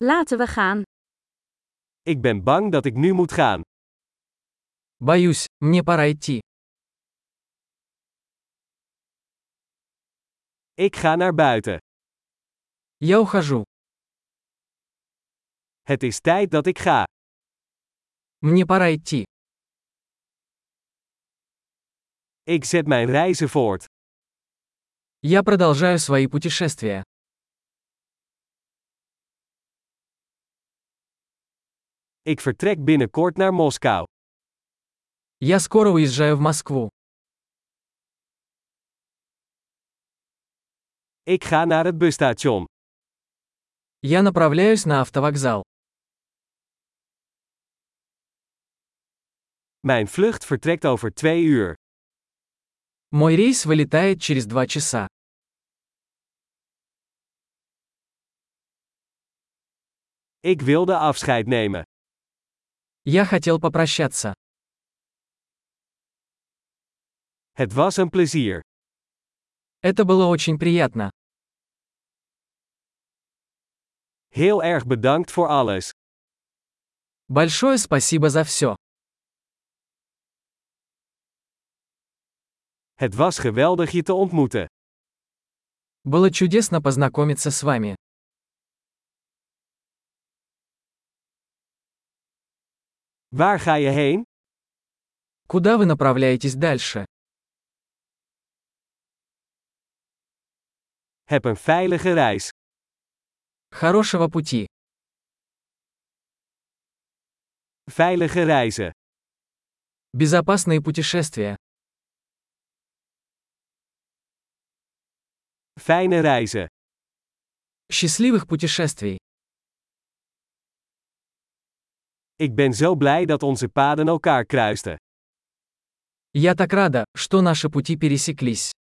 Laten we gaan. Ik ben bang dat ik nu moet gaan. Боюсь, мне пора идти. Ik ga naar buiten. Я ухожу. Het is tijd dat ik ga. Мне пора идти. Ik zet mijn reizen voort. Я продолжаю свои путешествия. Ik vertrek binnenkort naar Moskou. Я скоро уезжаю в Москву. Ik ga naar het busstation. Я направляюсь на автовокзал. Mijn vlucht vertrekt over 2 uur. Мой рейс вылетает через 2 часа. Ik wilde afscheid nemen. Я хотел попрощаться. Het was een plezier. Это было очень приятно. Heel erg bedankt voor alles. Большое спасибо за все. Het was geweldig je te ontmoeten. Было чудесно познакомиться с вами. Waar ga je heen? Куда вы направляетесь дальше? Heb een veilige reis. Хорошего пути. Veilige reizen. Безопасные путешествия. Fijne reizen. Счастливых путешествий. Ik ben zo blij dat onze paden elkaar kruisten. Я так рада, что наши пути пересеклись.